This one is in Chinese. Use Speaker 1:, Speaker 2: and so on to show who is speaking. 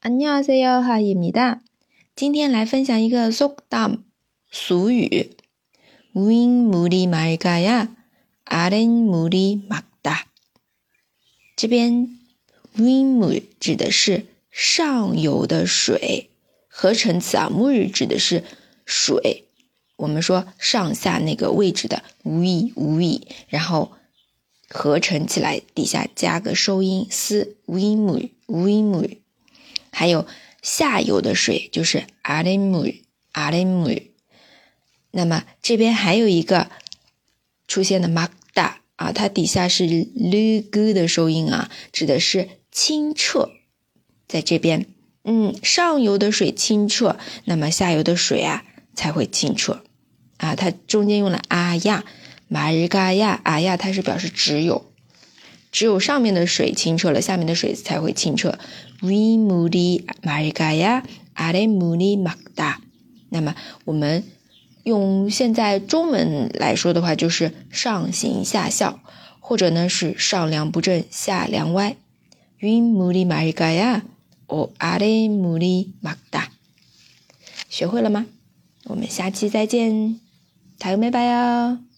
Speaker 1: 안녕하세요， 하이입니다。今天来分享一个 속담 俗语 윗물이 맑아야 아랫물이 맑다。 这边 윗물 指的是上游的水，合成词啊，물指的是水，我们说上下那个位置的위，然后合成起来底下加个收音스 윗물。还有下游的水就是 아랫물。 那么这边还有一个出现的 막다 啊，它底下是 르그 的收音啊，指的是清澈。在这边上游的水清澈，那么下游的水啊才会清澈啊。它中间用了啊呀마르가야啊呀，它是表示只有上面的水清澈了，下面的水才会清澈。윗물이 맑아야 아랫물이 맑다。 那么我们用现在中文来说的话，就是上行下效，或者呢是上梁不正下梁歪。윗물이 맑아야 아랫물이 맑다。 学会了吗？我们下期再见，다음에 봐요。